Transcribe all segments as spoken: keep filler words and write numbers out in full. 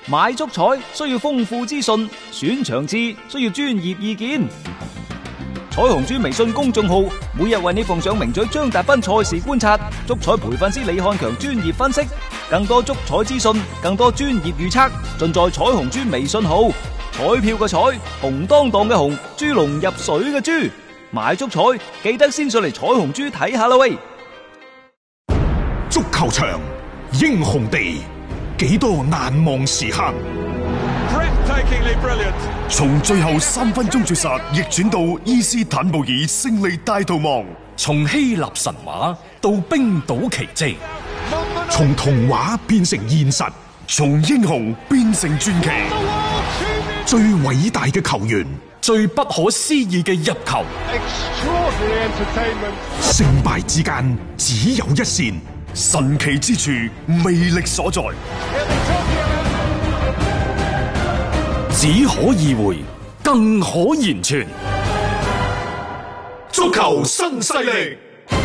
買足彩需要豐富資訊，選場次需要專業意見。彩虹豬微信公眾號每日為你奉上名嘴張達斌賽事觀察，足彩培訓師李漢強專業分析，更多足彩資訊，更多專業預測，盡在彩虹豬微信號。彩票嘅彩，紅當當嘅紅，豬籠入水嘅豬，買足彩記得先上嚟彩虹豬睇下啦喂！ 足球場，英雄地，幾多難忘時刻。從最後三分鐘絕殺逆轉到伊斯坦布爾勝利大逃亡， 從希臘神話到冰島奇蹟， 從童話變成現實，從英雄變成傳奇。最偉大嘅球員， 最不可思議嘅入球， 勝敗之間只有一線，神奇之處魅力所在。 只可意會，更可言傳。 足球新勢力，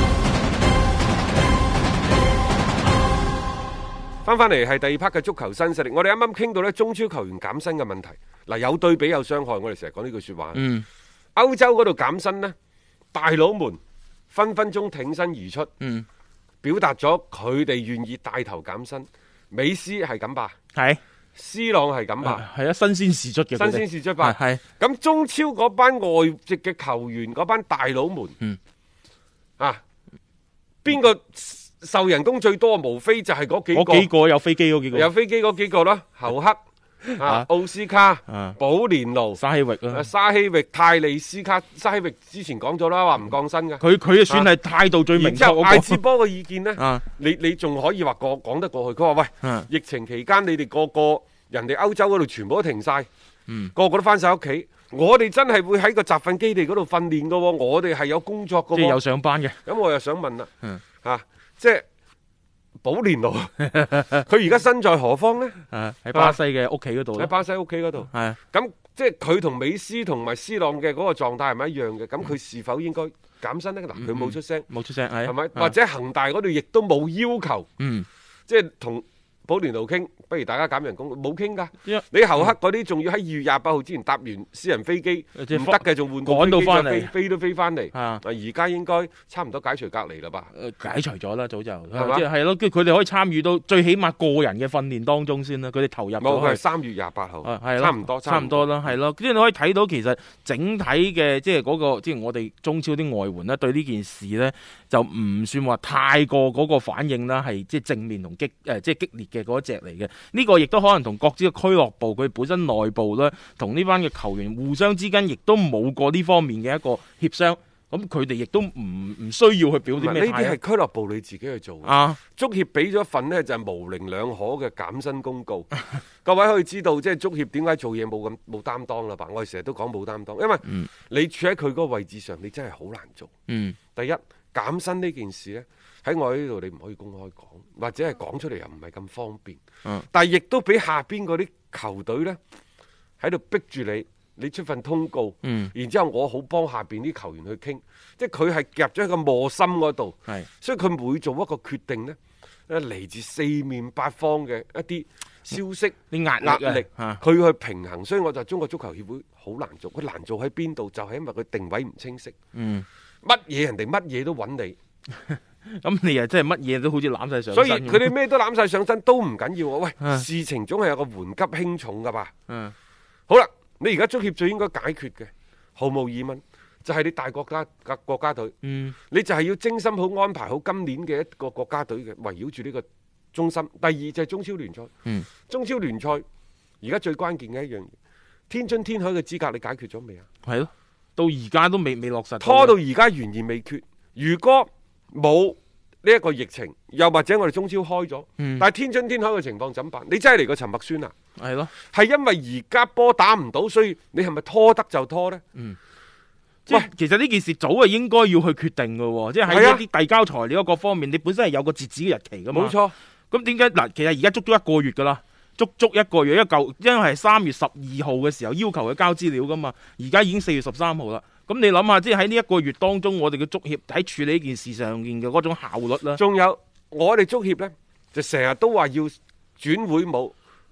翻翻嚟係第二 part 嘅足球新勢力。我哋啱啱傾到咧中超球員減薪嘅問題。嗱，有對比有傷害，我哋成日講呢句說話。嗯，歐洲嗰度減薪呢，大佬們分分鐘挺身而出，嗯，表達咗佢哋願意帶頭減薪。美斯係咁吧？係。C 朗係咁吧， 係啊，新鮮事出嘅， 新鮮事出吧，係。咁中超嗰班外籍嘅球員，嗰班大佬們，嗯，啊，邊個受人工最多？無非就係嗰幾個， 嗰幾個有飛機嗰幾個， 有飛機嗰幾個啦，侯克。啊，奧斯卡、保連奴、 沙希域啊， 沙希域、泰利斯卡，沙希域之前講咗啦，話唔降薪嘅。 佢佢算係態度最明確。然之後艾志波嘅意見呢，你你仲可以話過講得過去。佢話喂，疫情期間你哋個個人哋歐洲嗰度全部都停晒，個個都翻晒屋企，我哋真係會喺個集訓基地嗰度訓練噶，我哋係有工作噶， 即係有上班嘅。 咁我又想問啦，吓，即係。保連奴，佢而家身在何方呢？ 啊，喺巴西嘅屋企嗰度。 喺巴西屋企嗰度。係。咁即係佢同美斯同埋 C 朗嘅嗰個狀態係咪一樣嘅？咁佢是否應該減薪呢？嗱，佢冇出聲， 冇出聲，係。 係咪？或者恒大嗰度亦都冇要求。嗯。即係同保連奴傾，不如大家減人工，冇傾㗎。你侯克嗰啲仲要喺二月廿八號之前搭完私人飛機，唔得嘅仲換個飛機再飛，飛都飛翻嚟。啊，而家應該差唔多解除隔離啦吧？ 解除咗啦，早就係嘛？即係咯，跟住佢哋可以參與到最起碼個人嘅訓練當中先啦。佢哋投入咗。 冇，佢係三月廿八號。係差唔多， 差唔多啦，係咯。即係你可以睇到其實整體嘅即係嗰個即係我哋中超啲外援咧，對呢件事咧就唔算話太過嗰個反應啦，係即係正面同激誒即係激烈嘅嗰一隻嚟嘅。呢個亦都可能同各支嘅俱樂部佢本身內部咧，同呢班嘅球員互相之間亦都冇過呢方面嘅一個協商，咁佢哋亦都唔唔需要去表啲咩態。 呢啲係俱樂部你自己去做啊。足協俾咗一份呢就係模棱兩可嘅減薪公告，各位可以知道即係足協點解做嘢冇咁冇擔當啦吧？我哋成日都講冇擔當，因為你處喺佢嗰個位置上，你真係好難做。嗯，第一減薪呢件事呢。喺我呢度你唔可以公開講，或者係講出嚟又唔係咁方便。嗯，但係亦都俾下邊嗰啲球隊呢喺度逼住你，你出份通告。嗯，然之後我好幫下邊啲球員去傾，即係佢係夾咗喺個磨心嗰度。係，所以佢每做一個決定呢，嚟自四面八方嘅一啲消息、啲壓壓力，佢去平衡。所以我就中國足球協會好難做，佢難做喺邊度？就係因為佢定位唔清晰。嗯，乜嘢人哋乜嘢都揾你。 咁你又真係乜嘢都好似攬晒上身， 所以佢哋咩都攬晒上身都唔緊要啊！喂，啊、事情總係有個緩急輕重噶吧？嗯、啊，好啦，你而家足協最應該解決嘅，毫無疑問就係、是、你大國家國國家隊，嗯，你就係要精心好安排好今年嘅一個國家隊嘅圍繞住呢個中心。第二就係中超聯賽，嗯，中超聯賽而家最關鍵嘅一樣嘢，天津天海嘅資格你解決咗未啊？係咯， 到而家都未未落實， 拖到而家懸而未決。如果冇呢一個疫情，又或者我哋中超開咗，嗯、但係天津天海嘅情況怎辦？你真係嚟個陳默宣啊？ 係咯， 係因為而家波打唔到，所以你係咪拖得就拖呢？ 嗯，即係其實呢件事早係應該要去決定嘅，即係喺一啲遞交材料各方面，你本身係有個截止嘅日期噶嘛。冇錯。咁點解嗱？其實而家足足一個月噶啦，足足一個月，一舊，因為係三月十二號嘅時候要求佢交資料噶嘛，而家已經四月十三號啦。咁你諗下，即係喺呢一個月當中，我哋嘅足協喺處理呢件事上面嘅嗰種效率啦。 仲有我哋足協呢，就成日都話要轉會務，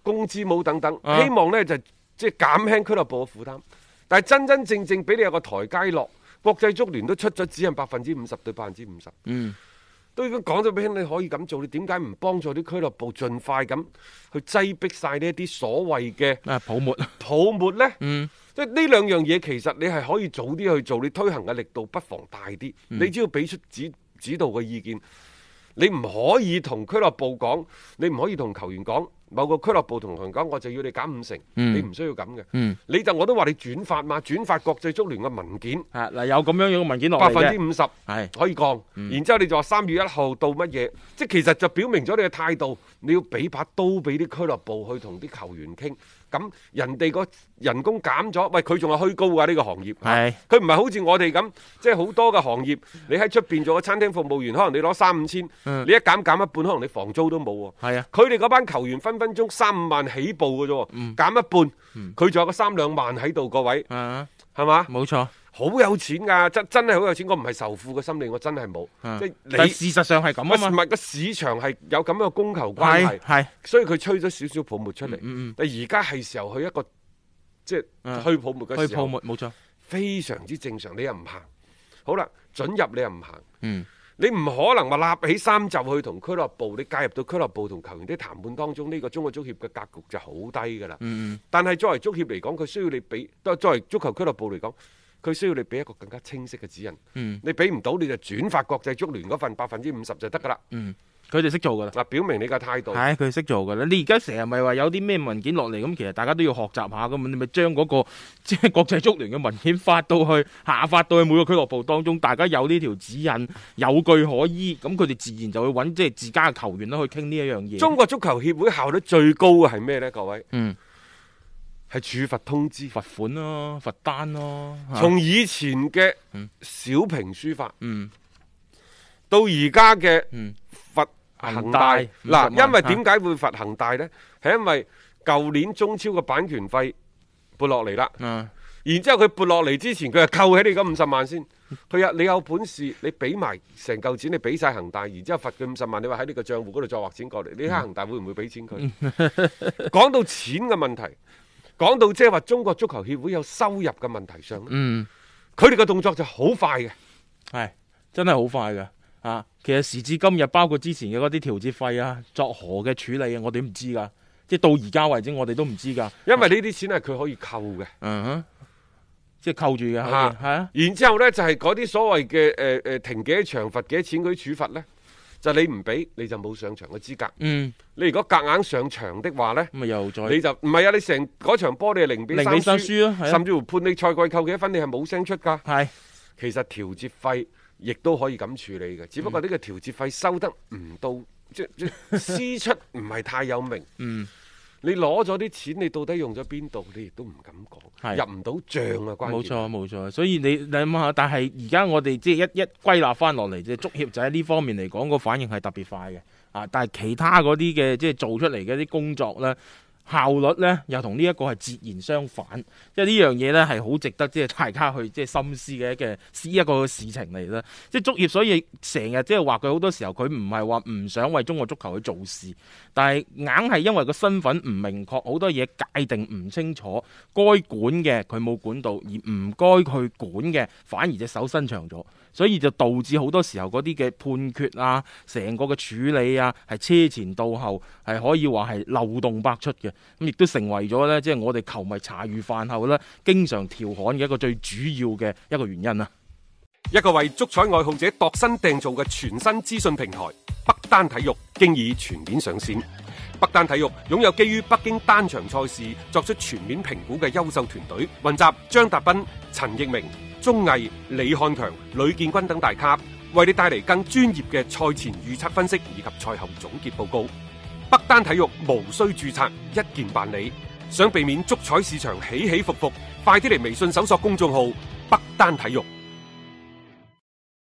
工資帽等等， 啊希望呢就即係減輕俱樂部嘅負擔。但係真真正正俾你有個台階落，國際足聯都出咗指引，百分之五十對百分之五十。 嗯。 都已經講咗俾你可以咁做，你點解唔幫助啲俱樂部盡快咁去擠逼晒呢一啲所謂嘅啊泡沫泡沫呢？ 嗯， 即係呢兩樣嘢其實你係可以早啲去做，你推行嘅力度不妨大啲。 嗯、 你只要俾出指指導嘅意見，你唔可以同俱樂部講，你唔可以同球員講。某個俱樂部同球員講，我就要你減五成， 嗯、 你唔需要咁嘅。 嗯、 你就我都話你轉發嘛，轉發國際足聯嘅文件。 啊嗱，有咁樣樣嘅文件落嚟百嘅， 分之五十係可以降。 嗯、 然之後你就話三月一號到乜嘢，即係其實就表明咗你嘅態度，你要俾把刀俾啲俱樂部去同啲球員傾。咁人哋個人工減咗，喂佢仲係虛高㗎呢、呢個行業。 係佢唔係好似我哋咁，即係好多嘅行業，你喺出邊做個餐廳服務員，可能你攞三五千， 嗯、 你一減減一半，可能你房租都冇喎。 係啊， 佢哋嗰班球員分分鐘三五萬起步嘅啫， 嗯、 減一半，佢仲、嗯、有個三兩萬喺度，各位，係嘛、啊？ 冇錯。 好有錢㗎，真真係好有錢。我唔係仇富嘅心理，我真係冇。 嗯、 即係你但事實上係咁啊嘛。 唔係個市場係有咁樣嘅供求關係， 係， 所以佢吹咗少少泡沫出嚟。 嗯嗯、 但而家係時候去一個即係去泡沫嘅時候。 去泡沫冇錯， 非常之正常。你又唔行，好啦，准入你又唔行。 嗯， 你唔可能話立起衫袖去同俱樂部，你介入到俱樂部同球員啲談判當中，呢、呢個中國足協嘅格局就好低㗎啦。 嗯、 但係作為足協嚟講，佢需要你俾，都作為足球俱樂部嚟講。佢需要你俾一個更加清晰嘅指引， 嗯、 你俾唔到你就轉發國際足聯嗰份百分之五十就得㗎啦。 嗯，佢哋識做㗎啦。 嗱，表明你嘅態度。 係佢識做㗎啦。你而家成日咪話有啲咩文件落嚟，咁其實大家都要學習下㗎嘛。你咪將嗰個即係國際足聯嘅文件發到去下發到去每個俱樂部當中，大家有呢條指引，有據可依，咁佢哋自然就會揾即係自家嘅球員啦去傾呢一樣嘢。 中國足球協會效率最高嘅係咩呢？各位？ 嗯。 係處罰通知、 罰款咯、罰單咯。 從以前嘅小評書法， 嗯、 到而家嘅罰恒恒大。嗱、嗯，因為點解會罰恒大呢？係、啊、因為舊年中超嘅版權費撥落嚟啦。 嗯、 然之後佢撥落嚟之前，佢就扣起你嗰五十萬先。佢話你有本事，你俾埋成嚿錢，你俾晒恒大，然之後罰佢五十萬，你話喺你個賬戶嗰度再劃錢過嚟，你睇恒大會唔會俾錢佢？講到錢嘅問題。講到即係話中國足球協會有收入嘅問題上， 嗯， 佢哋嘅動作就好快嘅， 係真係好快嘅啊！其實時至今日，包括之前嘅嗰啲調節費啊、作何嘅處理啊，我哋都唔知噶，即係到而家為止，我哋都唔知噶。 因為呢啲錢係佢可以扣嘅， 嗯哼，即係扣住嘅，係啊。啊然之後咧就係嗰啲所謂嘅誒誒停幾多場、罰幾多錢嗰啲處罰咧。就你唔俾你就冇上場嘅資格。嗯，你如果夾硬上場的話呢， 咁又再你就唔係啊！你成嗰場波你係零比三輸， 輸啊、 甚至乎判你賽季扣幾多分，你係冇聲出㗎。 係， 其實調節費亦都可以咁處理嘅，只不過呢個調節費收得唔到，嗯、即即師出唔係太有名。嗯。你攞咗啲錢，你到底用咗邊度？你亦都唔敢講，入唔到帳啊！關鍵。冇錯冇錯，所以你你諗下，但係而家我哋即係一一歸納翻落嚟，即係足協就喺呢方面嚟講個反應係特別快嘅啊！但係其他嗰啲嘅即係做出嚟嘅啲工作咧，效率咧又同呢一個係截然相反，即係呢樣嘢咧係好值得即係大家去即係深思嘅一嘅一個事情嚟啦。即係足協，所以成日即係話佢好多時候佢唔係話唔想為中國足球去做事，但係硬係因為個身份唔明確，好多嘢界定唔清楚，該管嘅佢冇管到，而唔該去管嘅反而隻手伸長咗，所以就導致好多時候嗰啲嘅判決啊，成個嘅處理啊係車前到後，係可以話係漏洞百出嘅。咁亦都成為咗呢，即係我哋球迷茶餘飯後呢經常調侃嘅一個最主要嘅一個原因啊！ 一個為足彩愛好者度身訂造嘅全新資訊平台北單體育，經已全面上線。北單體育擁有基於北京單場賽事作出全面評估嘅優秀團隊，雲集張達斌、陳奕明、鐘毅、李漢強、呂建軍等大咖，為你帶嚟更專業嘅賽前預測分析以及賽後總結報告。北單體育無需註冊，一鍵辦理。想避免足彩市場起起伏伏，快啲嚟微信搜索公眾號北單體育。